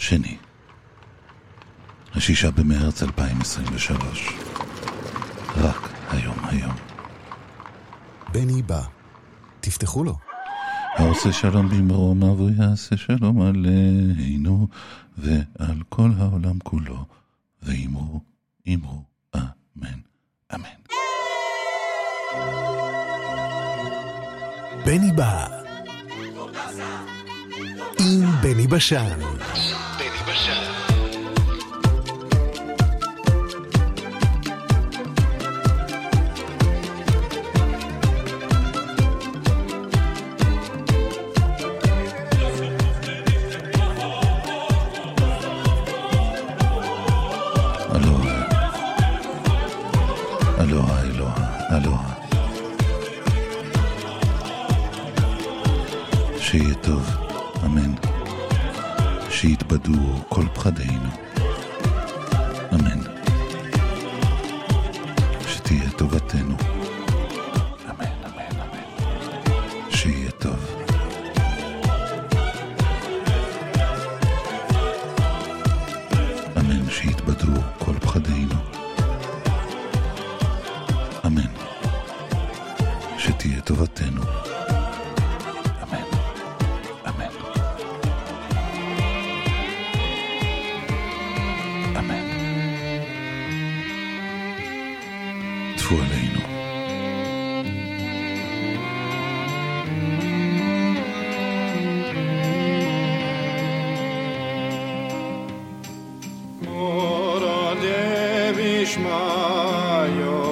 שני, 6 במרץ 2023. רק היום. בני בא, תפתחו לו. העושה שלום במרומיו ויעשה שלום עלינו ועל כל העולם כולו, ואמרו אמן. אמן. בני בא עם בני בשן. אלוהה. שיהיה טוב, אמן. שיתבדו כל פחדינו, אמן. שתהיה טובתנו, אמן. שיהיה טוב. אמן, שיתבדו כל פחדינו, אמן. שתהיה טובתנו, אמן. אמן. טפו עלינו. מורה דבישמעיו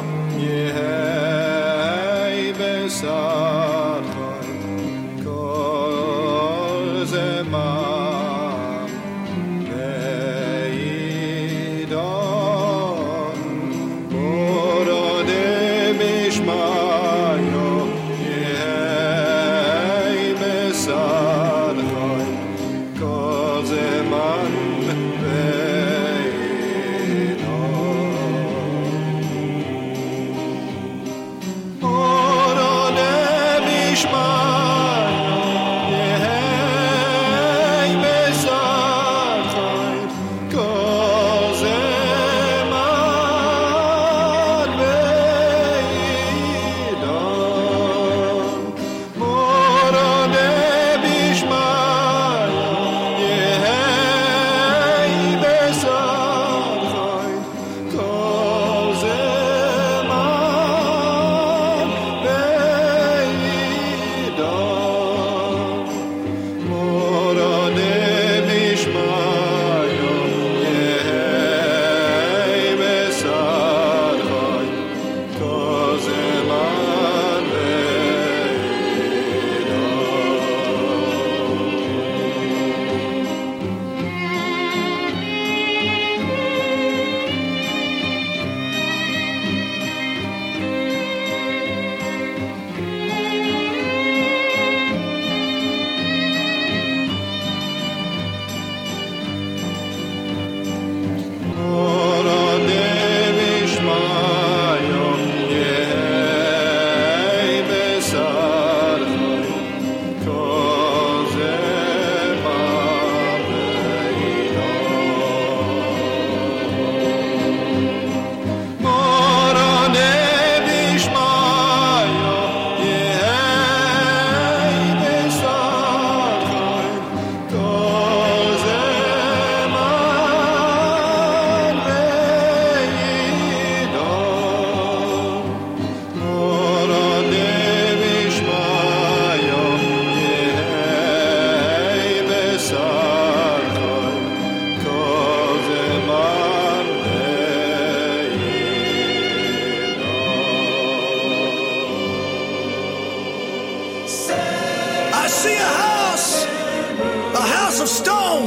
of stone,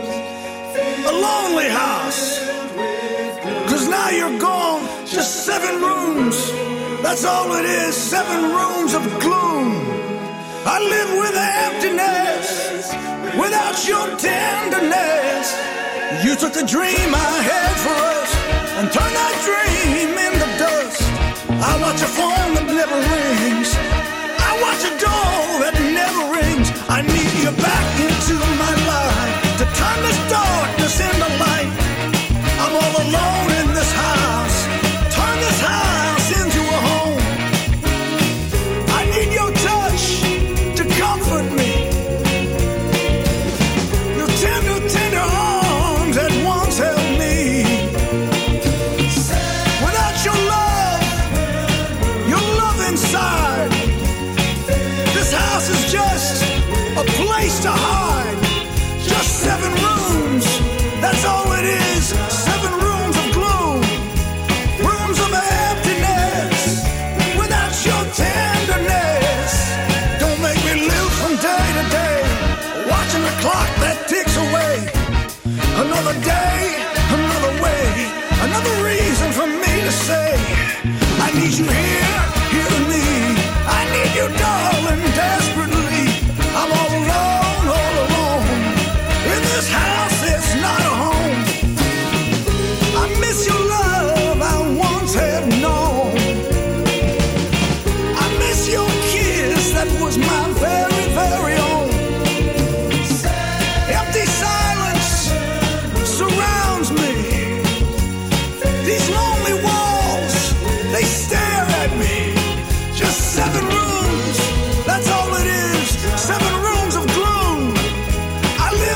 a lonely house, 'cause now you're gone. Just 7 rooms, that's all it is, 7 rooms of gloom. I live with emptiness, without your tenderness. You took the dream I had for us and turned that dream into dust. I watch a phone that never rings, I watch a door that never rings. I need you back into my life to turn this door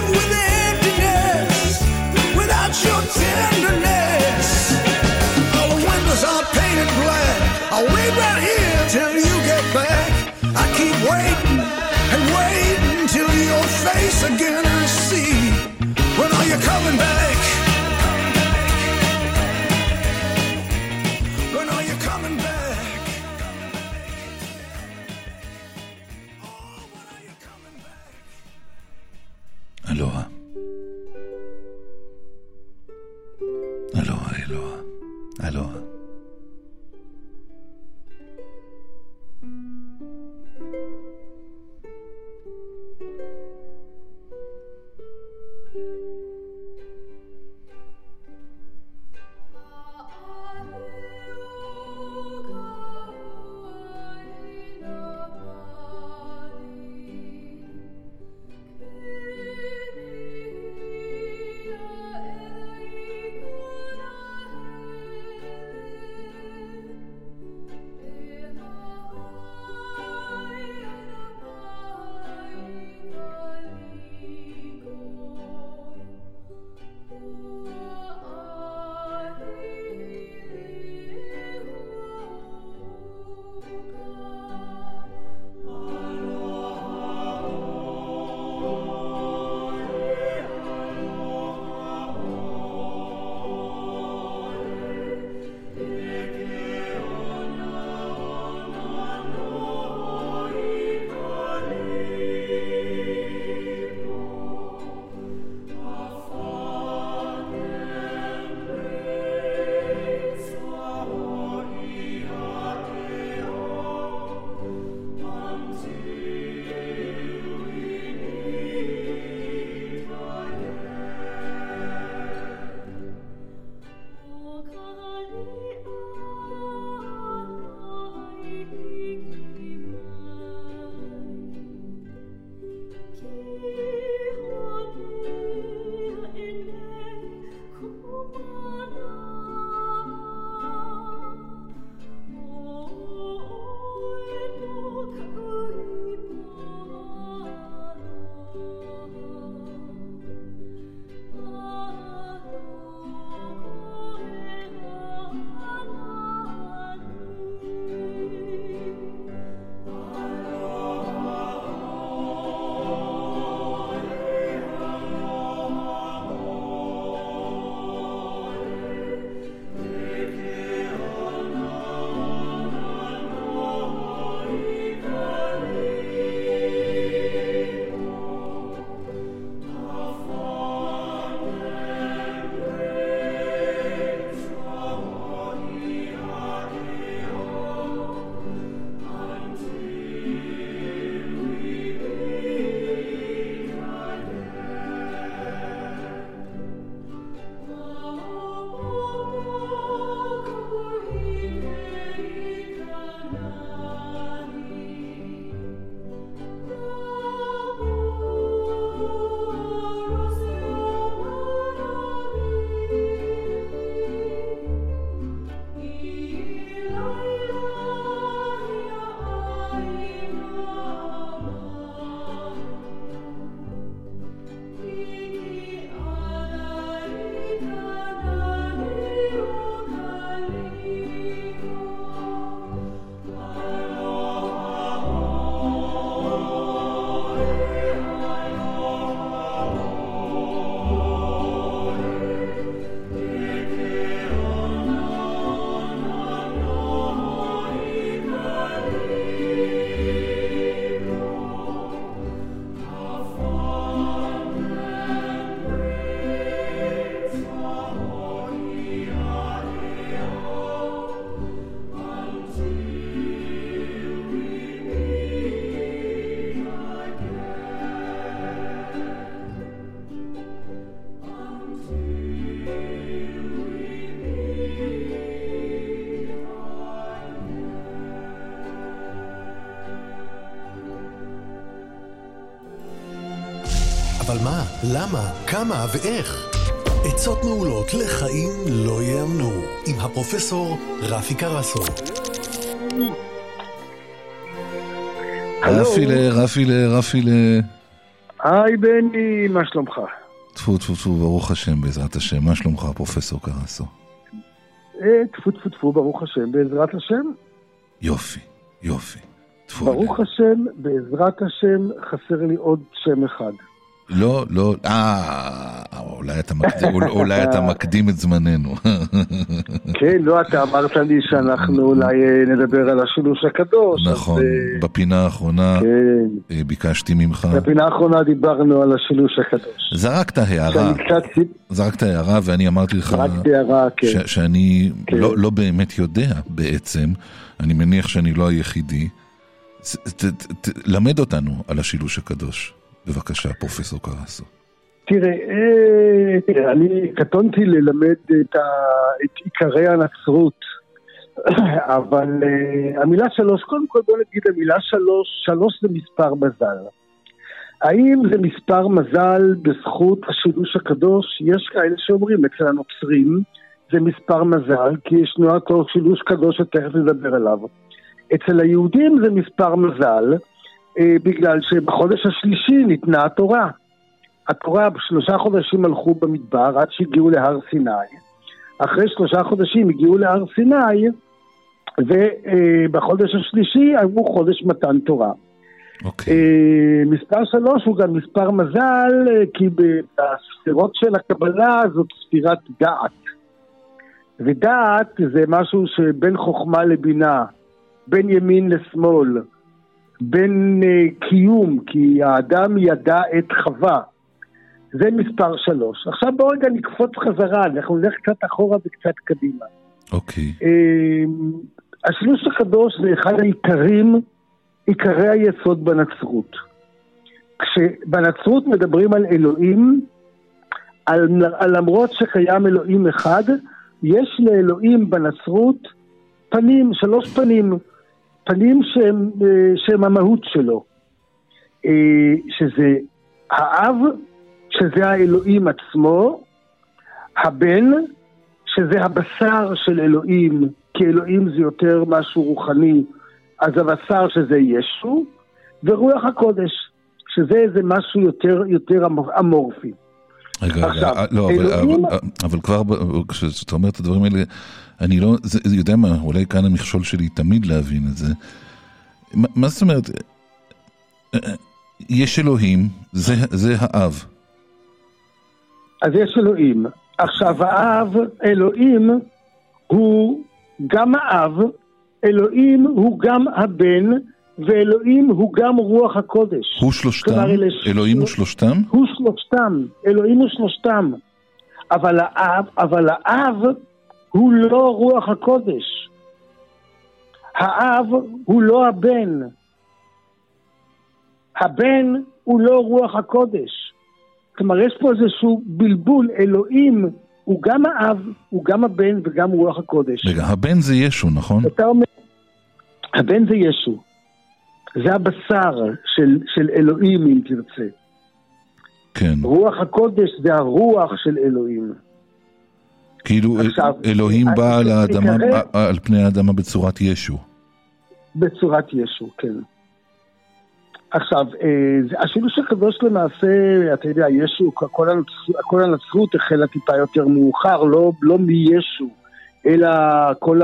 live with emptiness without your tenderness. All the windows are painted black. I'll wait right here till you get back. I keep waiting and waiting till your face again I see. When are you coming back? When are you coming back? Oh, when are you coming back? אלוהה. אלוהה, אלוהה. אלוהה. אבל מה, למה, כמה ואיך? עצות מעולות לחיים לא יאמנו, עם הפרופסור רפי קרסו. רפילה. היי בני, מה שלומך? טפו טפו טפו, ברוך השם בעזרת השם. מה שלומך פרופסור קרסו? טפו טפו טפו, ברוך השם בעזרת השם. יופי, יופי. ברוך השם, בעזרת השם, חסר לי עוד שם אחד. לא, לא, אולי אתה מקדים את זמננו. כן, לא, אתה אמרת לי שאנחנו אולי נדבר על השילוש הקדוש. נכון, בפינה האחרונה ביקשתי ממך. בפינה האחרונה דיברנו על השילוש הקדוש. זרקת הערה ואני אמרתי לך שאני לא באמת יודע בעצם, אני מניח שאני לא היחידי. למד אותנו על השילוש הקדוש. בבקשה, פרופסור קרסו. תראה, אני קטונתי ללמד את עיקרי הנצרות, אבל המילה שלוש, קודם כל בוא נגיד המילה שלוש זה מספר מזל. האם זה מספר מזל בזכות השילוש הקדוש? יש כאלה שאומרים, אצל הנוצרים זה מספר מזל, כי ישנו אותו שילוש קדוש שתכף נדבר עליו. אצל היהודים זה מספר מזל, בגלל שבחודש השלישי ניתנה התורה. התורה ב3 חודשים הלכו במדבר עד שהגיעו להר סיני. אחרי 3 חודשים הגיעו להר סיני, ובחודש השלישי עברו חודש מתן תורה. מספר 3 הוא גם מספר מזל, כי בספירות של הקבלה זאת ספירת דעת. ודעת זה משהו שבין חוכמה לבינה, בין ימין לשמאל, בין קיום, כי האדם ידע את חווה. זה מספר 3. עכשיו בואו רגע נקפוץ חזרה, אנחנו נלך קצת אחורה וקצת קדימה. אוקיי. השילוש הקדוש זה אחד עיקרי היסוד בנצרות. כשבנצרות מדברים על אלוהים, למרות שקיים אלוהים אחד, יש לאלוהים בנצרות פנים, 3 פנים. פנים שהם המהות שלו, שזה האב, שזה האלוהים עצמו, הבן, שזה הבשר של אלוהים, כי אלוהים זה יותר משהו רוחני, אז הבשר שזה ישו, ורוח הקודש, שזה איזה משהו יותר אמורפי. רגע, לא, אבל כבר כשאתה אומר את הדברים האלה, אני לא, יודע מה, אולי כאן המכשול שלי תמיד להבין את זה. מה זאת אומרת? יש אלוהים, זה האב. אז יש אלוהים. עכשיו האב, אלוהים, הוא גם האב, אלוהים הוא גם הבן, ואלוהים הוא גם רוח הקודש. הוא שלושתם? אלוהים הוא שלושתם? הוא שלושתם, אלוהים הוא שלושתם. אבל האב הוא לא רוח הקודש. האב הוא לא הבן. הבן הוא לא רוח הקודש. כלומר, יש פה איזשהו בלבול. אלוהים הוא גם האב, הוא גם הבן וגם רוח הקודש. רגע, הבן זה ישו, נכון? אתה אומר, הבן זה ישו. זה הבשר של אלוהים, אם תרצה. כן. רוח הקודש זה הרוח של אלוהים. כאילו אלוהים בא על פני האדמה בצורת ישו. בצורת ישו, כן. עכשיו, השילוש הקדוש למעשה, אתה יודע, ישו, כל הנצרות החלה טיפה יותר מאוחר, לא מישו, אלא כל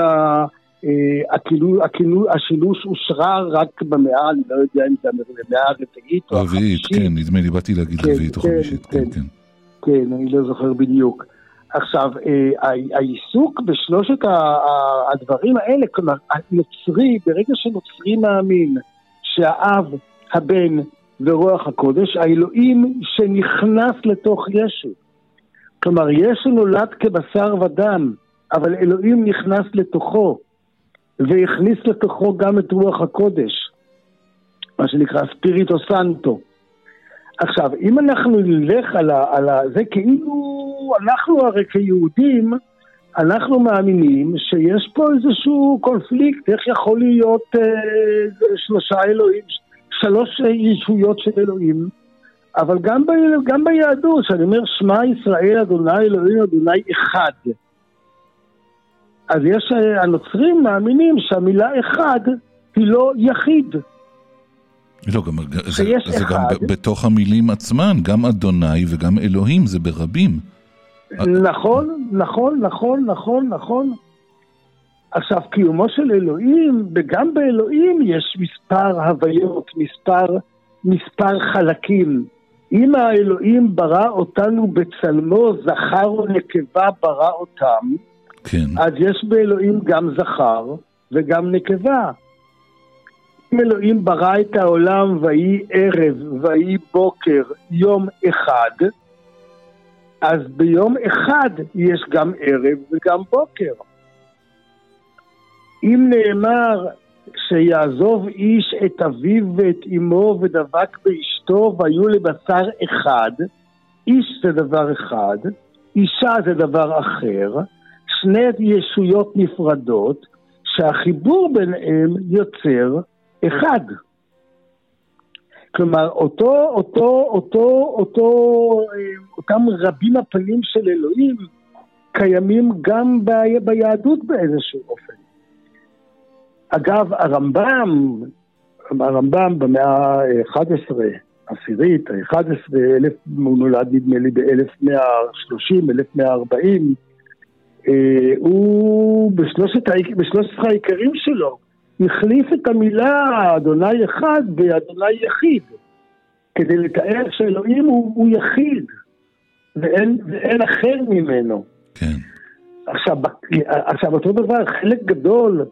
השילוש אושרה רק במאה, אני לא יודע אם זה במאה הרביעית או החמישית. כן, נדמה לי, באתי להגיד רביעית או חמישית, כן. כן, אני לא זוכר בדיוק. עכשיו, העיסוק בשלושת הדברים האלה, כלומר, הנוצרי, ברגע שנוצרי מאמין שהאב, הבן ורוח הקודש, האלוהים שנכנס לתוך ישו. כלומר, ישו נולד כבשר ודם, אבל אלוהים נכנס לתוכו, והכניס לתוכו גם את רוח הקודש, מה שנקרא ספיריטו סנטו. עכשיו, אם אנחנו נלך על זה, כאילו אנחנו הרי כיהודים, אנחנו מאמינים שיש פה איזשהו קונפליקט, איך יכול להיות 3 אלוהים, 3 ישויות של אלוהים, אבל גם ביהדות, שאני אומר, שמע ישראל אדוני אלוהים אדוני אחד. אז הנוצרים מאמינים שהמילה אחד היא לא יחיד. לא, זה גם בתוך המילים עצמן, גם אדוני וגם אלוהים, זה ברבים. נכון, נכון, נכון, נכון, נכון. עכשיו, קיומו של אלוהים, וגם באלוהים יש מספר הוויות, מספר חלקים. אם האלוהים ברא אותנו בצלמו, זכר ונקבה ברא אותם, כן. אז יש באלוהים גם זכר וגם נקבה. אם אלוהים ברא את העולם ויהי ערב ויהי בוקר יום אחד, אז ביום אחד יש גם ערב וגם בוקר. אם נאמר שיעזוב איש את אביו ואת אמו ודבק באשתו והיו לבשר אחד, איש זה דבר אחד, אישה זה דבר אחר, שני ישויות נפרדות שהחיבור ביניהם יוצר אחד. כלומר, אותם רבים הפנים של אלוהים קיימים גם ביהדות באיזשהו אופן. אגב, הרמב"ם במאה ה-11, עשירית, ה-11, הוא נולד נדמה לי ב-1130, 1140, הוא בשלושת העיקרים שלו, החליף את המילה אדוני אחד באדוני יחיד, כדי לתאר שאלוהים הוא יחיד, ואין אחר ממנו. כן. עכשיו, אותו דבר, חלק גדול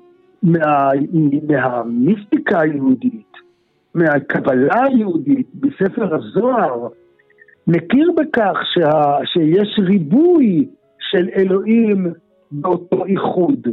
מהמיסטיקה היהודית, מהקבלה היהודית, בספר הזוהר, מכיר בכך שיש ריבוי של אלוהים באותו איחוד.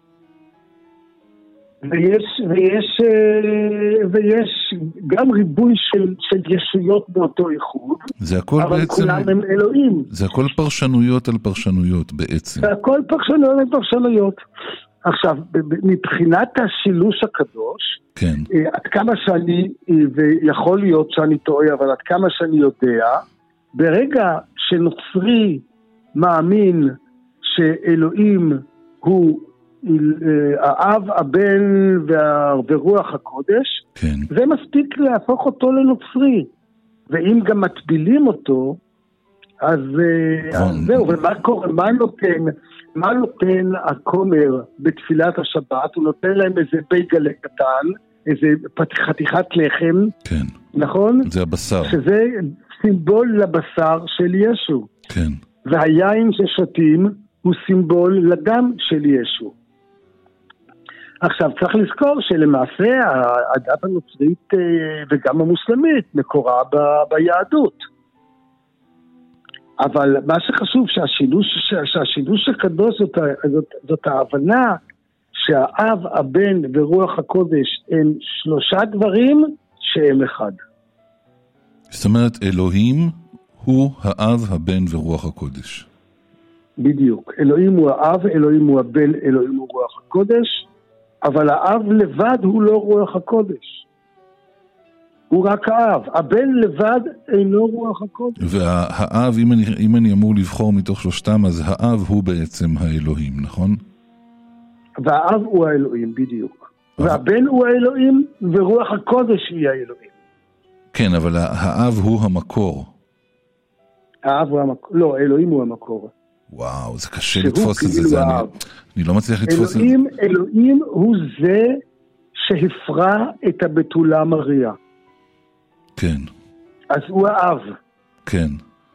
ויש גם ריבוי של ישויות באותו איחוד, אבל בעצם, כולם הם אלוהים. זה הכל פרשנויות על פרשנויות בעצם. זה הכל פרשנויות על פרשנויות. עכשיו, מבחינת השילוש הקדוש, כן. עד כמה שאני, ויכול להיות שאני טועה, אבל עד כמה שאני יודע, ברגע שנוצרי מאמין שאלוהים הוא האב, הבן ורוח הקודש, כן. זה מספיק להפוך אותו לנוצרי. ואם גם מטבילים אותו, אז זהו, ומה קורה, מה נותן הכומר בתפילת השבת? הוא נותן להם איזה בייגלה קטן, איזה חתיכת לחם, כן. נכון? זה הבשר. שזה סימבול לבשר של ישו. כן. והיין ששותים הוא סימבול לדם של ישו. עכשיו צריך לזכור שלמעשה הדת הנוצרית וגם המוסלמית מקורה ביהדות. אבל מה שחשוב שהשילוש הקדוש זאת ההבנה שהאב, הבן ורוח הקודש הם שלושה דברים שהם אחד. זאת אומרת, אלוהים הוא האב, הבן ורוח הקודש. בדיוק. אלוהים הוא האב, אלוהים הוא הבן, אלוהים הוא רוח הקודש, אבל האב לבד הוא לא רוח הקודש. הוא רק האב. הבן לבד אינו רוח הקודש. והאב, אם אני אמור לבחור מתוך שלושתם, אז האב הוא בעצם האלוהים, נכון? והאב הוא האלוהים, בדיוק. והבן הוא האלוהים, ורוח הקודש היא האלוהים. כן, אבל האב הוא המקור. האב הוא המקור. לא, האלוהים הוא המקור. וואו, זה קשה לתפוס את זה. אני לא מצליח לתפוס את זה. אלוהים הוא זה שהפרע את הבתולה מריה. כן. אז הוא האב. כן.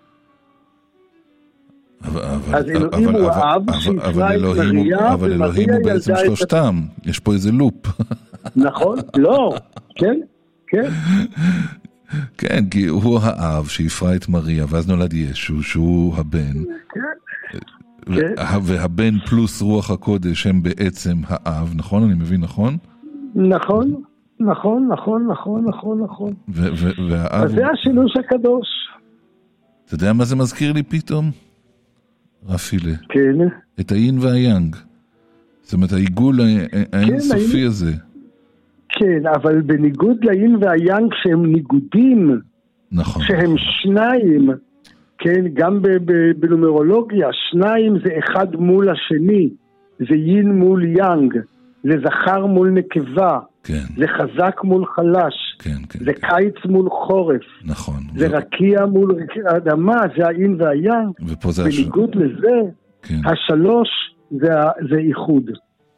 אז אלוהים הוא האב שהפרע את מריה, אבל אלוהים הוא בעצם שלושתם. יש פה איזה לופ. נכון? לא. כן? כן. כן, כי הוא האב שהפרע את מריה, ואז נולד ישו, שהוא הבן. כן. והבן פלוס רוח הקודש הם בעצם האב, נכון? אני מבין, נכון? נכון, נכון, נכון, נכון, נכון, נכון. אז זה השילוש הקדוש. אתה יודע מה זה מזכיר לי פתאום? רפילה. כן. את האין והיאנג. זאת אומרת, העיגול האינסופי הזה. כן, אבל בניגוד לאין והיאנג שהם ניגודים, נכון. שהם שניים, כן, גם בנומרולוגיה, שניים זה אחד מול השני, זה יין מול יאנג, זה זכר מול נקבה, כן. זה חזק מול חלש, כן, כן. זה קיץ מול חורף. נכון. זה רקיע מול אדמה, זה העין והים. ופה זה בניגוד לזה, כן. השלוש זה איחוד.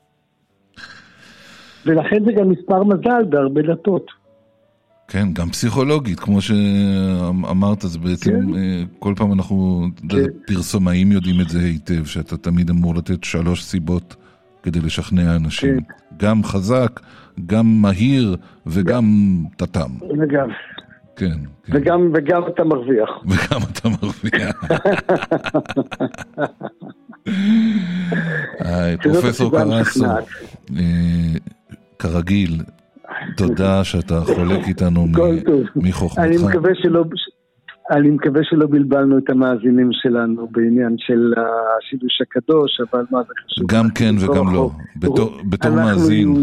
ולכן זה גם מספר מזל בהרבה דתות. כן, גם פסיכולוגית, כמו שאמרת, זה בעצם, כן. כל פעם אנחנו, כן. פרסומאים יודעים את זה היטב, שאתה תמיד אמור לתת 3 סיבות כדי לשכנע אנשים. כן. גם חזק, גם מהיר, וגם תתם. וגם. כן, כן. וגם אתה מרוויח. וגם אתה מרוויח. פרופסור קרסו, כרגיל, תודה שאתה חולק איתנו מחוכמתך. אני מקווה שלא בלבלנו את המאזינים שלנו בעניין של השילוש הקדוש, אבל מה זה חשוב? גם כן וגם לא. בתור מאזין.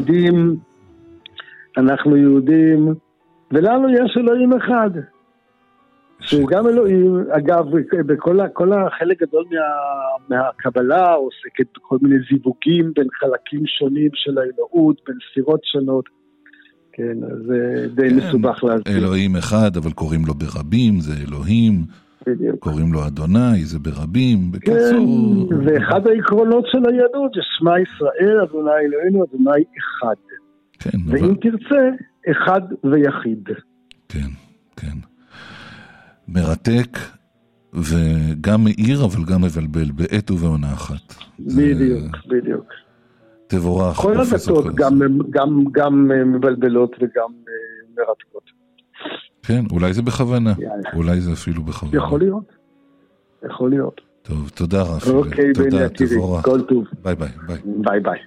אנחנו יהודים, ולנו יש אלוהים אחד. שהוא גם אלוהים, אגב, כל החלק גדול מהקבלה עוסקת בכל מיני זיווגים בין חלקים שונים של האלוהות, בין ספירות שונות. כן, אז זה די מסובך להסביר. אלוהים אחד, אבל קוראים לו ברבים, זה אלוהים. בדיוק. קוראים לו אדוני, זה ברבים. כן, ואחד העקרונות של היהדות זה שמע ישראל, אדוני אלוהינו, אדוני אחד. כן, ואם תרצה, אחד ויחיד. כן, כן. מרתק, וגם מאיר, אבל גם מבלבל, בעת ובעונה אחת. בדיוק, בדיוק. תבורך. כל הדתות גם מבלבלות וגם מרתקות. כן, אולי זה בכוונה. אולי זה אפילו בכוונה. יכול להיות. יכול להיות. טוב, תודה רפי. אוקיי, תודה, תבורך. כל טוב. ביי ביי. ביי ביי.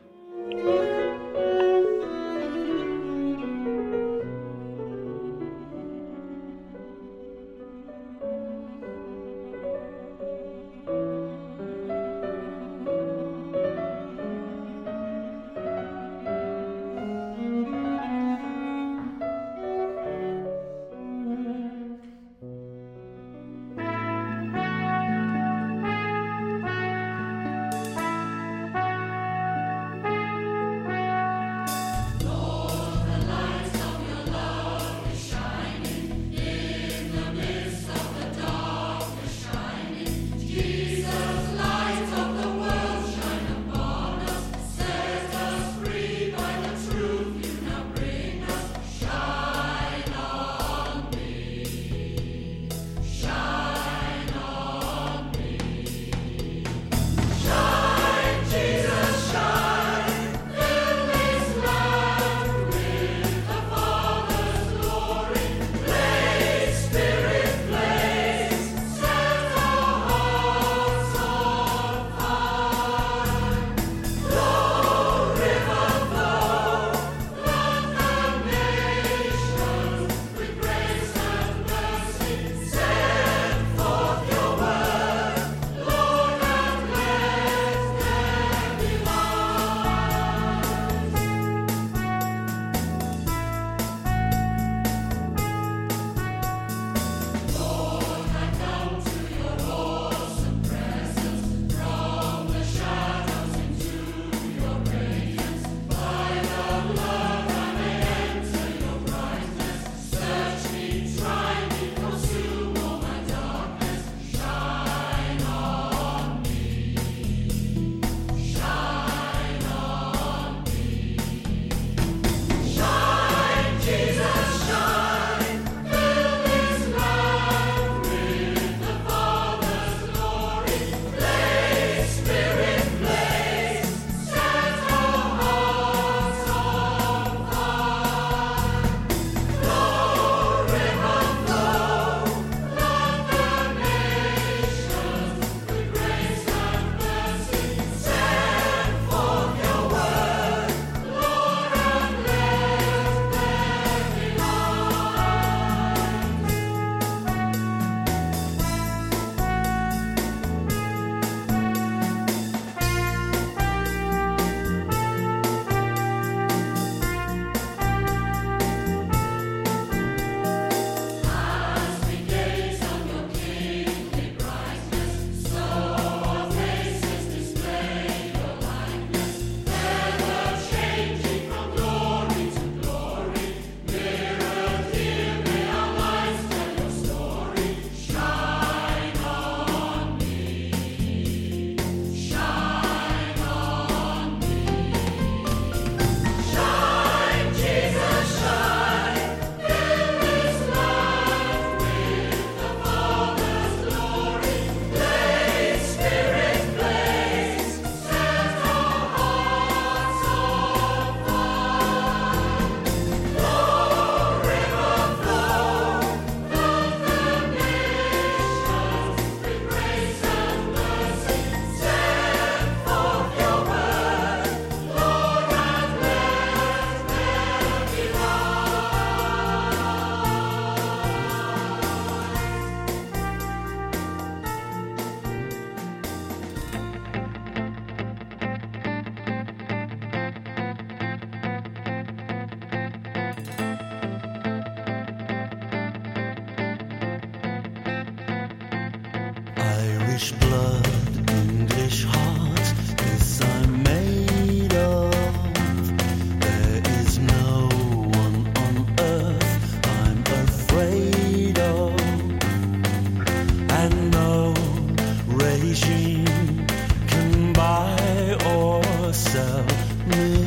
Irish blood, English heart, this I'm made of. There is no one on earth I'm afraid of, and no regime can buy or sell me.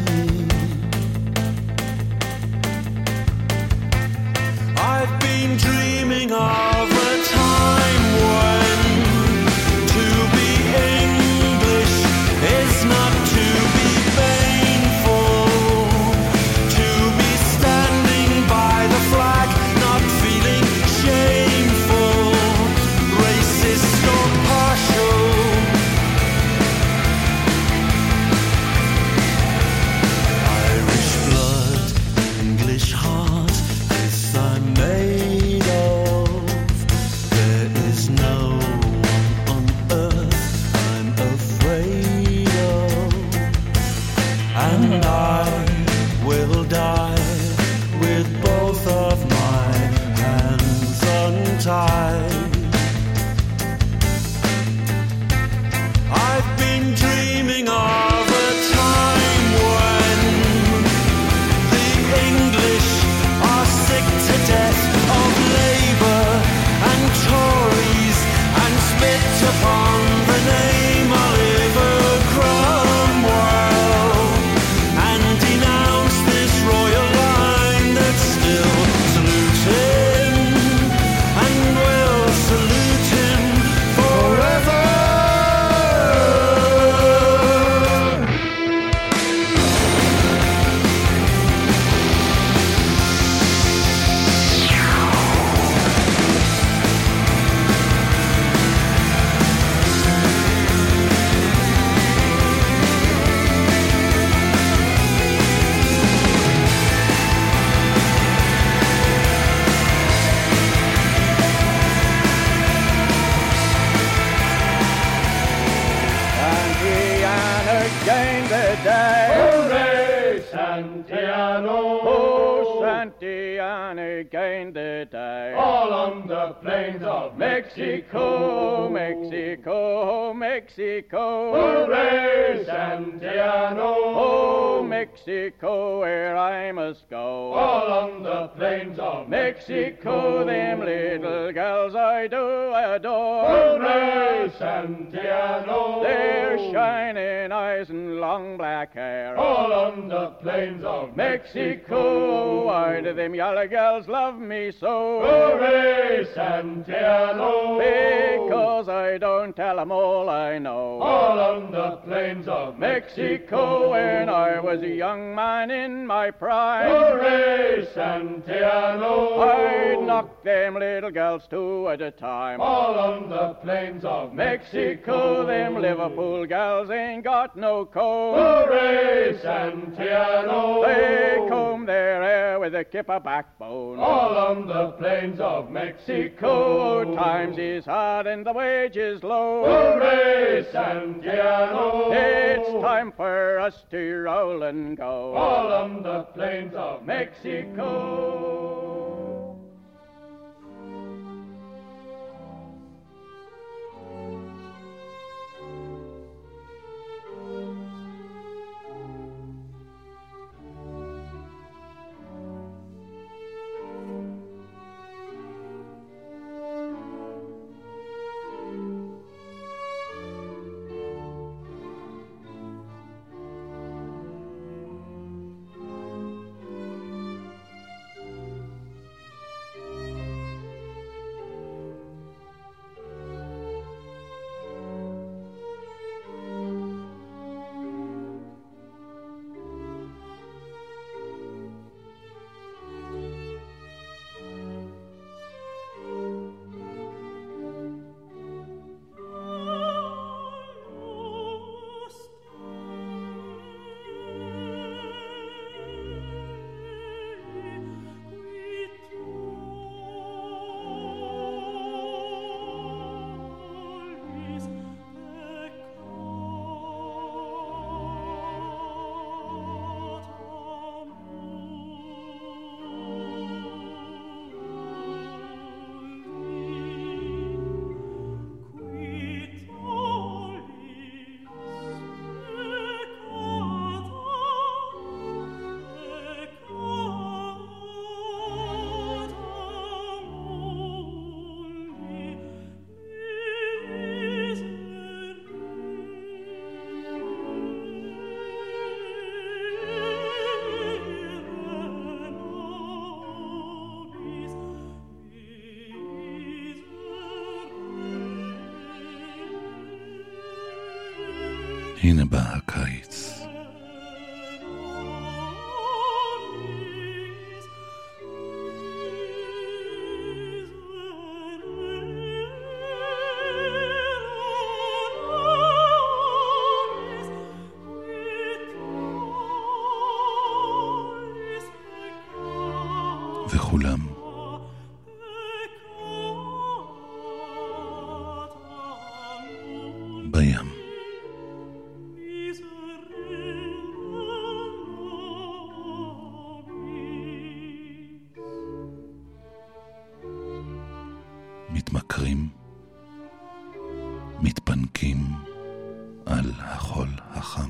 I've been dreaming of a time when to be English is not to be painful, to be standing by the flag, not feeling shameful, racist or partial. Irish blood, English heart, this I'm made of. There is no one on earth I'm afraid of, and I will die with both of my hands untied. I've been dreaming of a time when the English are sick to death of Labour and Tories, and spit upon the name Oliver Cromwell, and denounce this royal line that's still saluting and will salute him forever. Santiana gained the day. Hooray, Santiano! Oh, Santiana gained the day. All on the plains of Mexico. Mexico, Mexico. Hooray, Santiano! Oh, Mexico, where I must go. All on the plains of Mexico, them little girls I do adore. Hooray, Santiano! Their shining eyes and long black hair. All on the plains of Mexico, why do them yellow girls love me so? Hooray, Santiano! Because I don't tell 'em all I know. All on the plains of Mexico, when I was a young man in my prime, Hooray, Santiano! I'd knock them little girls two at a time. All on the plains of Mexico, them Liverpool gals ain't got no comb. Hooray, Santiano! They comb their hair with a kipper backbone. All on the plains of Mexico. Times is hard and the wages low. Hooray, Santiano! It's time for us to roll and go. All on the plains of Mexico. הנה בא הקיץ. וכולם בים. מתמכרים, מתפנקים על החול החם.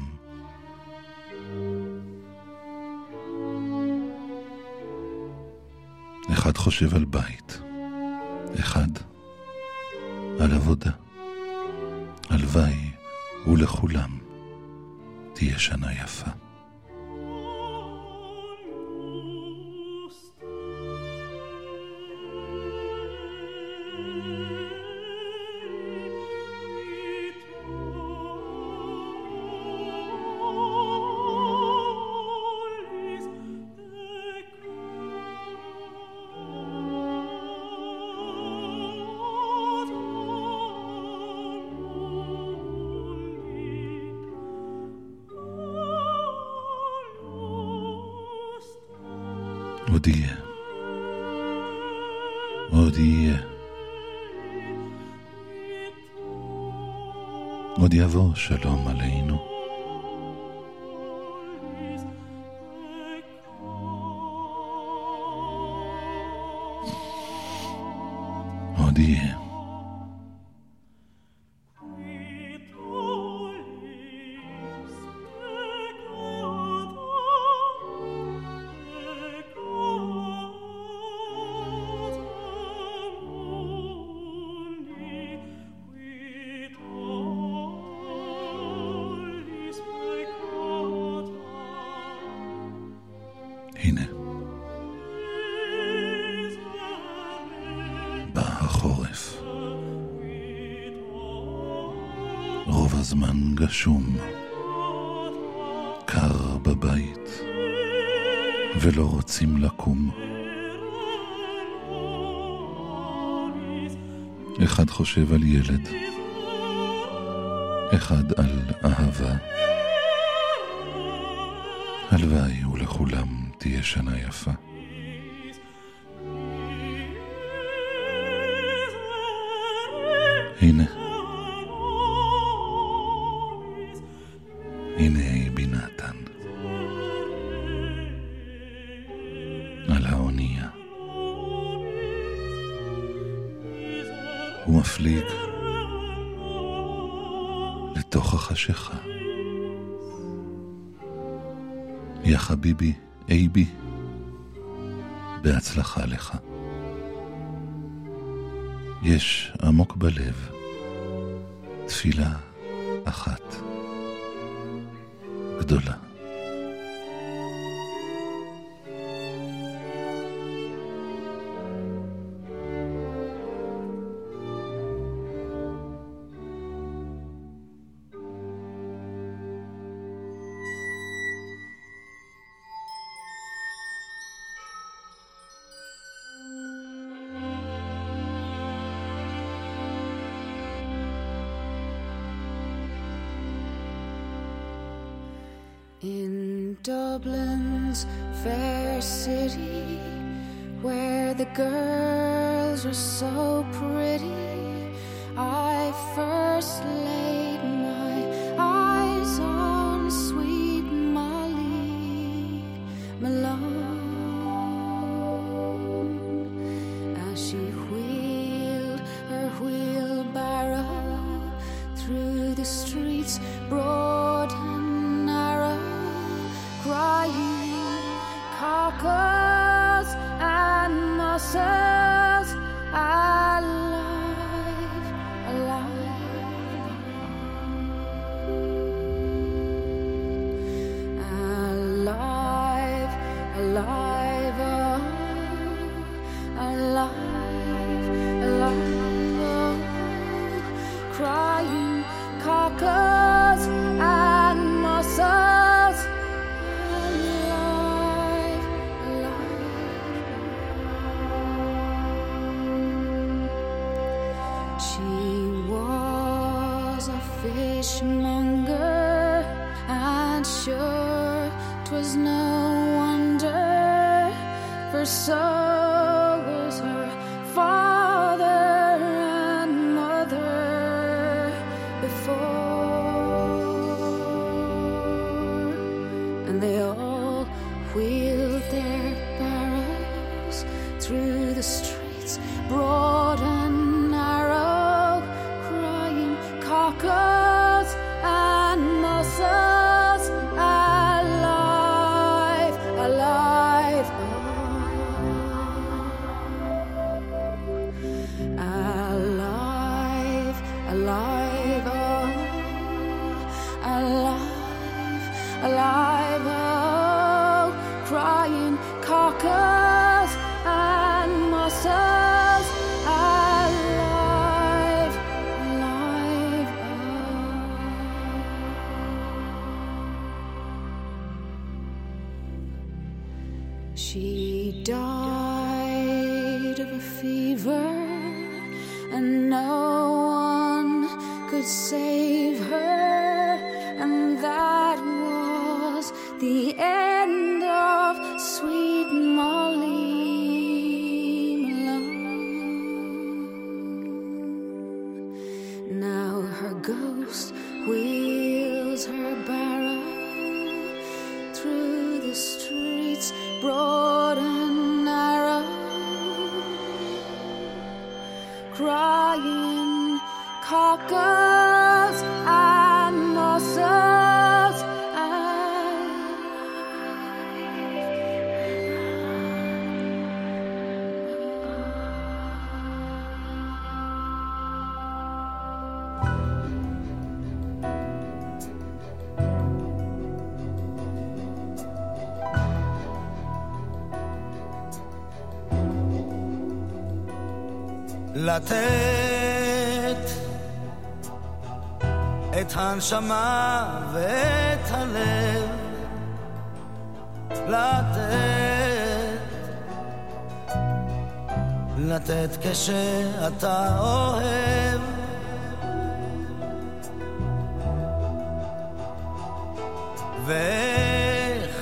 אחד חושב על בית, אחד על עבודה. הלוואי ולכולם תהיה שנה יפה. עוד יהיה, עוד יהיה, עוד יבוא שלום עלינו. עוד יהיה. הנה, בא החורף, רוב הזמן גשום, קר בבית, ולא רוצים לקום. אחד חושב על ילד, אחד על אהבה. הלוואי ולכולם תהיה שנה יפה. הנה, הנה בינתן על האונייה, הוא מפליג לתוך החשיכה. יא חביבי, אייבי, בהצלחה לך. יש עמוק בלב תפילה אחת גדולה. In Dublin's fair city, where the girls are so pretty, I first laid my eyes on sweet Molly Malone, as she wheeled her wheelbarrow through the streets broad and narrow, crying cockles and mussels, alive, alive, alive, alive, oh, alive, alive, oh, crying cockles was a fishmonger, and sure 'twas no wonder, for so was her father and mother before, and they all wheeled their barrows through the streets, broad and narrow, crying cockles and mussels, alive, alive, alive, alive, alive, alive, crying cockles and mussels, alive, alive. She died of a fever, and no one could save her, and that was the end of sweet Molly Malone. Now her ghost wheels her barrow through the streets, broad and narrow, crying cockles and mussels, לתת את הנשמה ואת הלב, לתת כשאתה אוהב, ואיך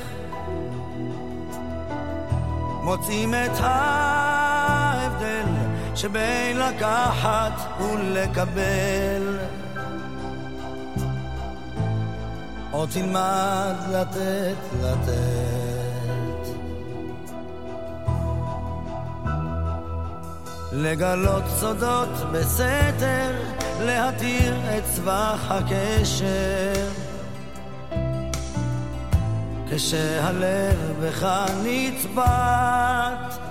מוצאים את ההבדל שבין לקחת ולקבל, או תלמד לתת, לגלות סודות בסתר, להתיר את צבח הקשר, כשהלב בך נצבט,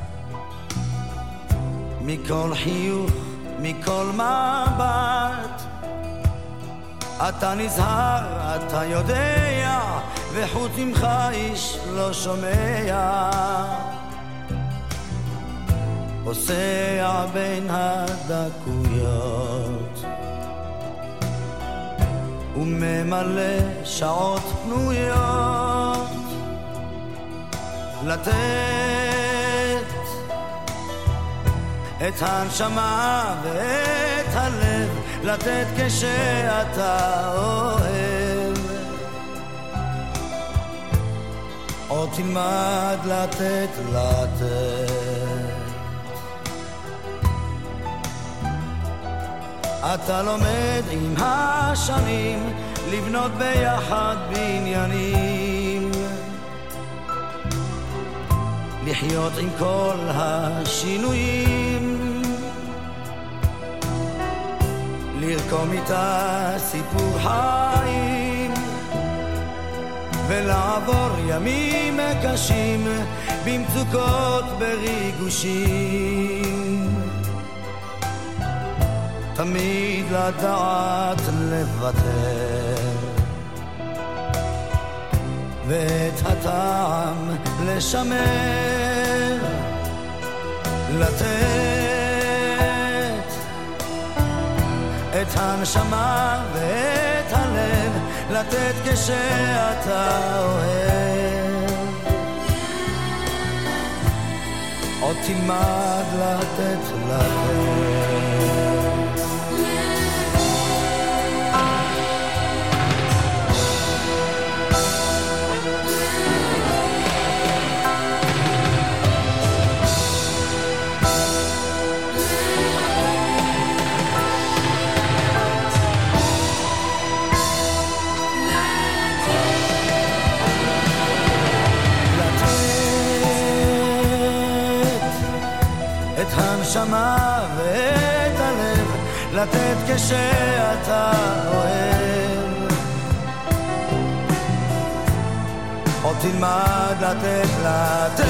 מכל חיוך, מכל מבט, אתה נזהר, אתה יודע, וחוץ ממך איש לא שומע, פוסע בין הדקויות וממלא שעות פנויות, לתת את הנשמה ואת הלב, לתת כשאתה אוהב, או תלמד לתת, אתה לומד עם השנים לבנות ביחד בניינים, לחיות עם כל השינויים, לרקום איתה סיפור חיים, ולעבור ימים קשים במצוקות בריגושים, תמיד לדעת לוותר, ואת הטעם לשמר, לתת את הנשמה ואת הלב, לתת כשאתה אוהב, עוד תלמד לתת, לתת כשאתה אוהב, או תלמד לתת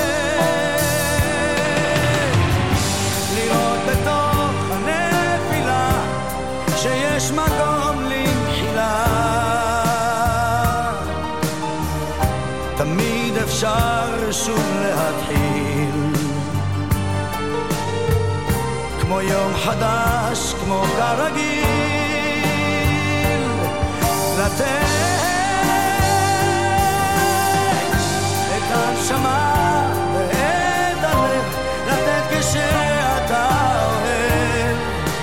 לראות בתוך הנפילה שיש מקום למחילה, תמיד אפשר שוב להתחיל, כמו יום חדש, כמו כרגיל, לתת את הנשמה ואת הלב, לתת כשאתה אוהב,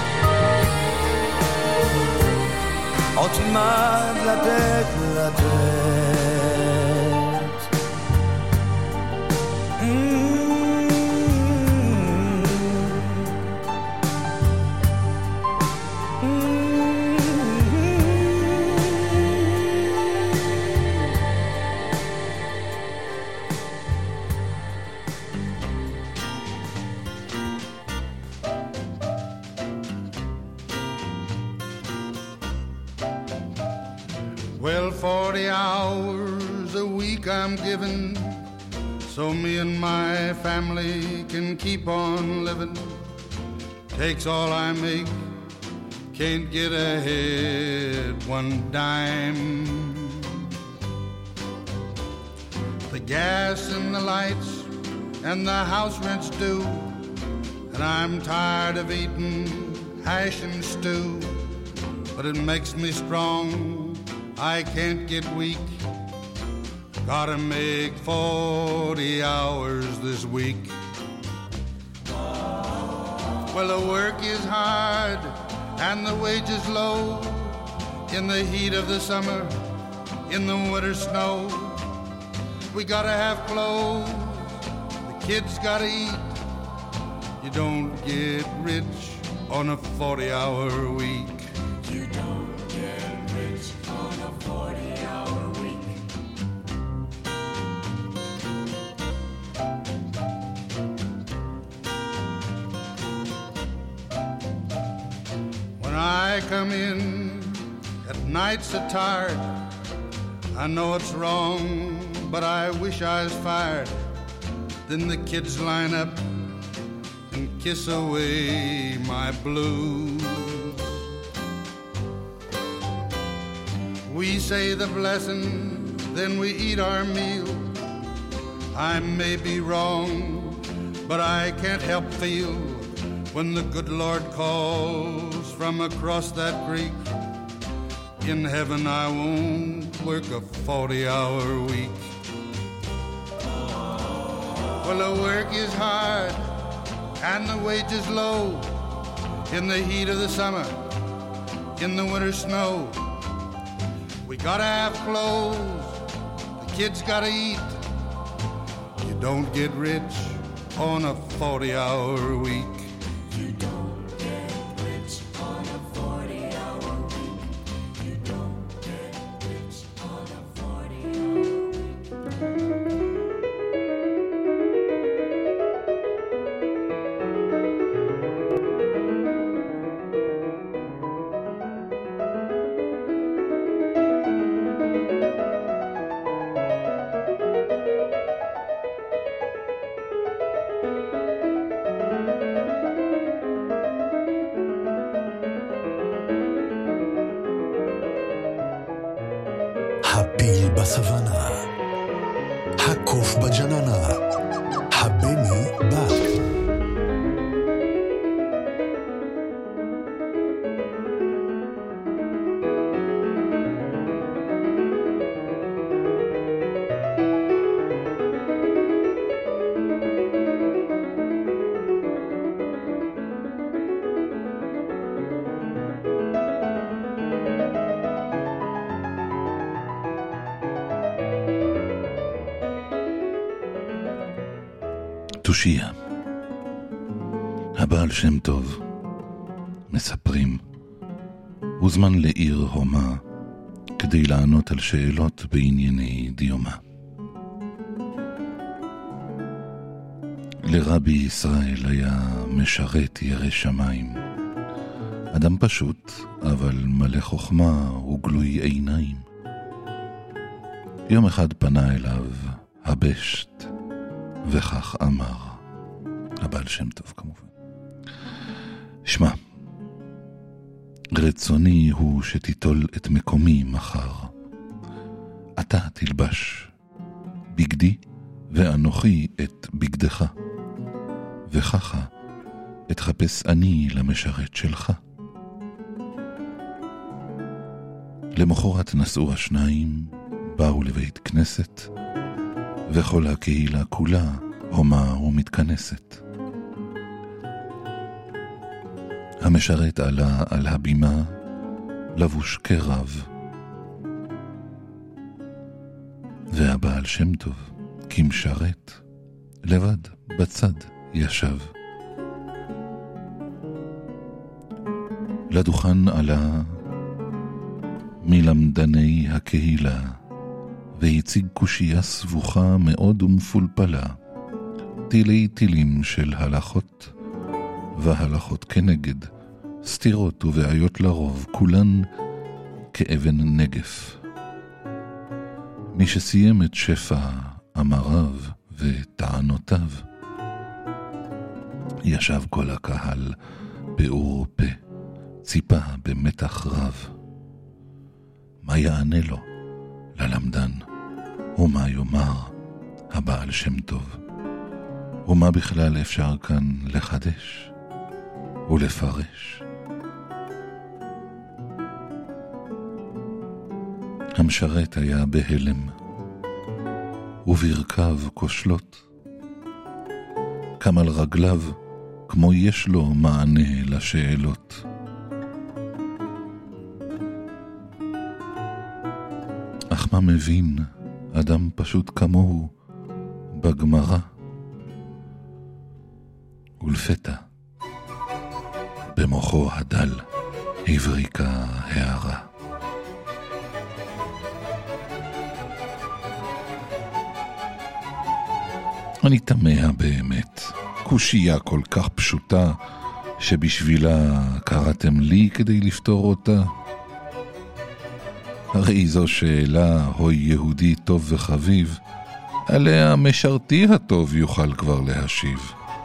עוד תלמד לתת Well, 40 hours a week I'm given, so me and my family can keep on living. Takes all I make, can't get ahead one dime. The gas and the lights and the house rent's due, and I'm tired of eating hash and stew, but it makes me strong, I can't get weak. Gotta make 40 hours this week. Well, the work is hard and the wages low, in the heat of the summer, in the winter snow. We gotta have clothes, the kids gotta eat. You don't get rich on a 40-hour week. You don't get rich on a 40-hour week. When I come in at night so tired, I know it's wrong, but I wish I was fired. Then the kids line up and kiss away my blues. We say the blessing, then we eat our meal. I may be wrong, but I can't help feel when the good Lord calls from across that creek. In heaven I won't work a 40-hour week. Well, the work is hard and the wages low, in the heat of the summer, in the winter snow. We gotta have clothes, the kids gotta eat. You don't get rich on a 40-hour week. You don't get rich on a 40-hour week. You don't get rich on a 40-hour week. הפיל בסוואנה, הקוף בג'ננה, הבני בא. תושייה. הבעל שם טוב, מספרים, הוזמן לעיר הומה כדי לענות על שאלות בענייני דיומה. לרבי ישראל היה משרת ירא שמיים, אדם פשוט, אבל מלא חוכמה וגלוי עיניים. יום אחד פנה אליו הבשט, וכך אמר, הבעל שם טוב כמובן. שמע, רצוני הוא שתיטול את מקומי מחר. אתה תלבש בגדי ואנוכי את בגדך, וככה אתחפש אני למשרת שלך. למחרת נסעו השניים, באו לבית כנסת, וכל הקהילה כולה הומה ומתכנסת. המשרת עלה על הבימה, לבוש כרב, והבעל שם טוב, כמשרת, לבד בצד ישב. לדוכן עלה מלמדני הקהילה, והציג קושייה סבוכה מאוד ומפולפלה, תילי תילים של הלכות, והלכות כנגד, סתירות ובעיות לרוב, כולן כאבן נגף. מי שסיים את שפע אמריו וטענותיו, ישב כל הקהל באור פה, ציפה במתח רב. מה יענה לו ללמדן, ומה יאמר הבעל שם טוב, ומה בכלל אפשר כאן לחדש ולפרש. המשרת היה בהלם, וברכב כושלות, קם על רגליו כמו יש לו מענה לשאלות. אך מה מבין אדם פשוט כמוהו בגמרא? ולפתע במוחו הדל הבריקה הערה. אני תמה באמת, קושייה כל כך פשוטה שבשבילה קראתם לי כדי לפתור אותה? הרי זו שאלה, הוי יהודי טוב וחביב, עליה משרתי הטוב יוכל כבר להשיב.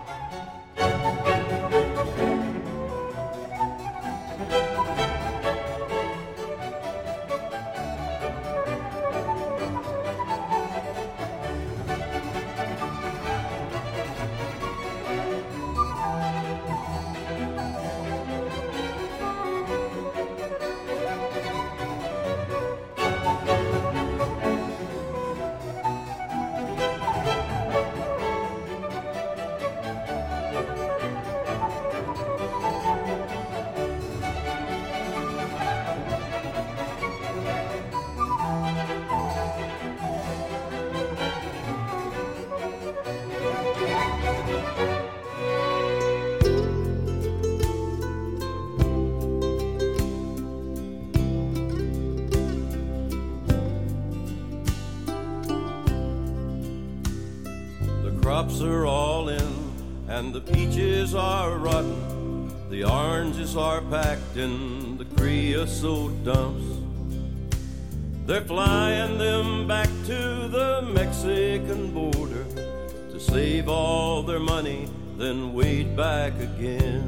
crops are all in and the peaches are rotten, the oranges are packed in the creosote dumps. They're flying them back to the Mexican border to save all their money, then wade back again.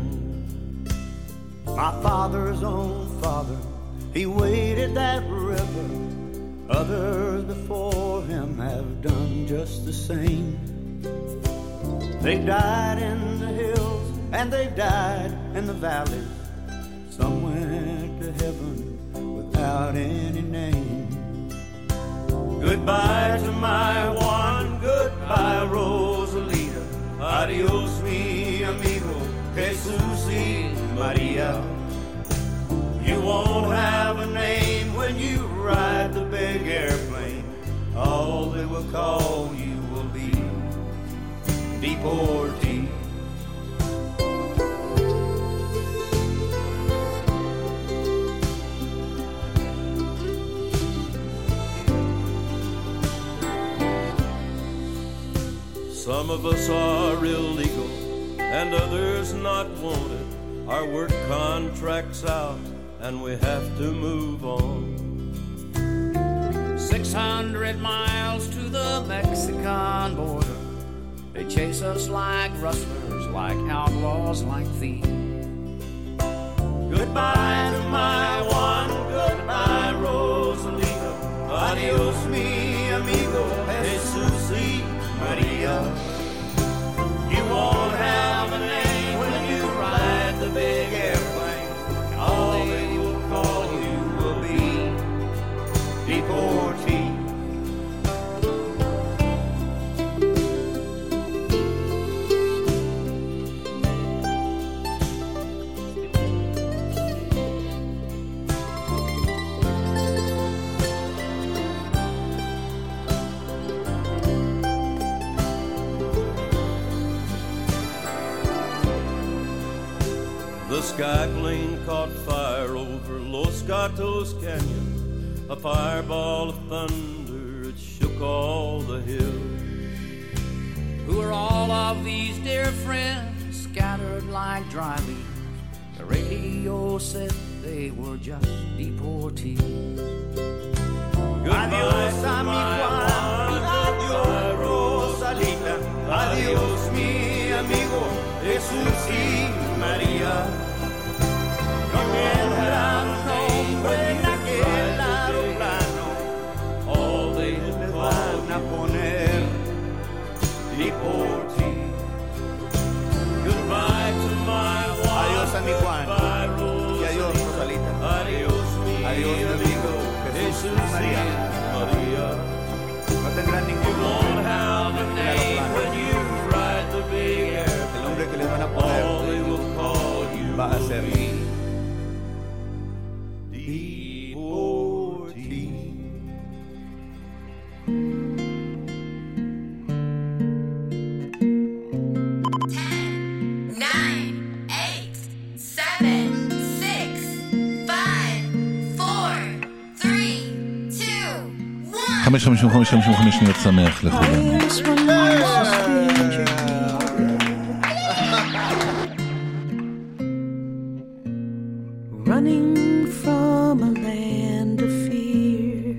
My father's own father, he waded that river. Others before him have done just the same. They've died in the hills and they've died in the valleys. Some went to heaven without any name. Goodbye to my Juan, goodbye Rosalita. Adios mi amigo, Jesus y Maria. You won't have a name when you ride the big airplane. All they will call you will be deportee. Some of us are illegal and others not wanted. Our work contract's out and we have to move on. 600 miles to the Mexican border. They chase us like rustlers, like outlaws, like thieves. Goodbye to my one, goodbye Rosalita. Adios mi amigo, Jesus y Maria. You won't have a name when you ride the big airplane. All they will call you will be deportee. The sky plane caught fire over Los Gatos Canyon. A fireball of thunder, it shook all the hills. Who are all of these dear friends scattered like dry leaves? The radio said they were just deportees. Adios a mi Juan, adios Rosalita, adios mi amigo, Jesús y María. No tendrán nombre en aquel aeroplano, all they van a poner deportee. Goodbye to my Juan, adiós a mi Juan, y adiós Rosalita, adiós mi amigo, Jesús y María. No tendrán ningún nombre en el aeroplano. El nombre que les van a poner va a ser חמש 55 שניות שמח לכולם. Running from a land of fear,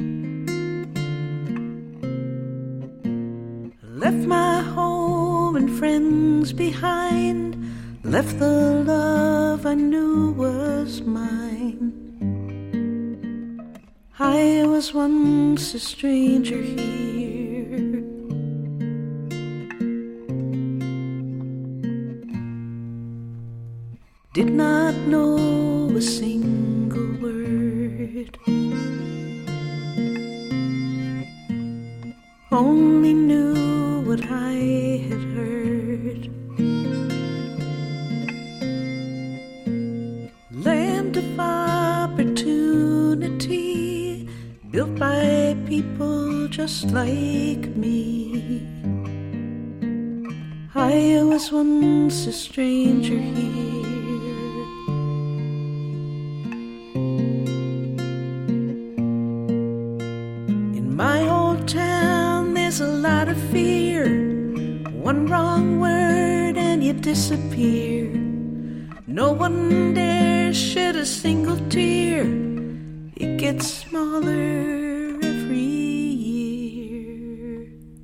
left my home and friends behind, left the love I knew was mine. I was once a stranger here, did not know a single word, only knew what I had heard. Land of opportunity, built by people just like me. I was once a stranger here, in my old town there's a lot of fear. One wrong word and you disappear. No one dares shed a single tear. It gets smaller every year.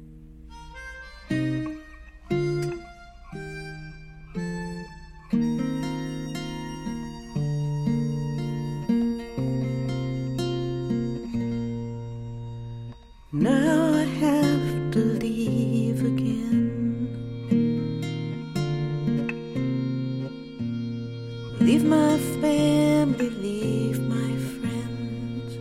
Now I have to leave again, leave my family, leave my friends.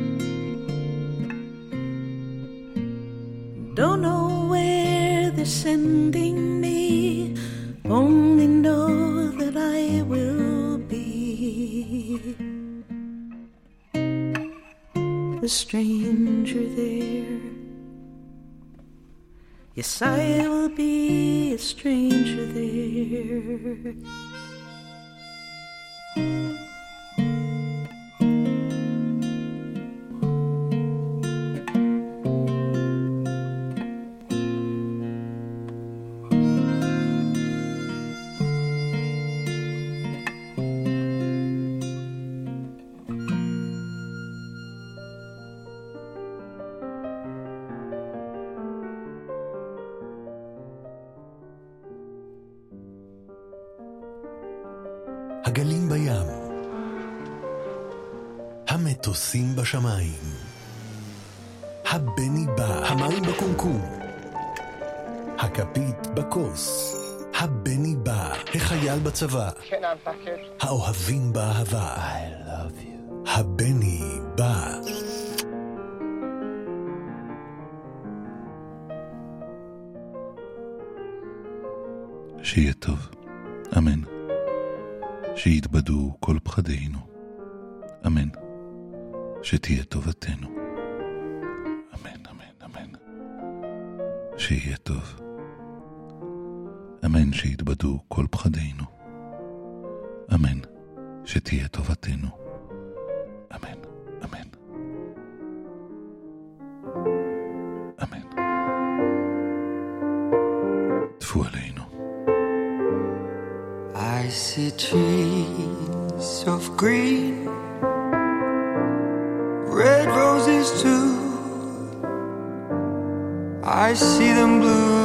Don't know where they're sending me, only know that I will be a stranger there. Yes, I will be a stranger there. הגלים בים, המטוסים בשמיים, הבני בא, המים בקומקום, הכפית בכוס, הבני בא, החייל בצבא, האוהבים באהבה, I love you, הבני בא. שיהיה טוב, אמן. שיתבדו כל פחדינו, אמן. שתהיה טובתנו, אמן, אמן, אמן. שיהיה טוב, אמן. שיתבדו כל פחדינו, אמן. שתהיה טובתנו, אמן, אמן, אמן. טפו עלינו. I see trees of green, red roses too. I see them blue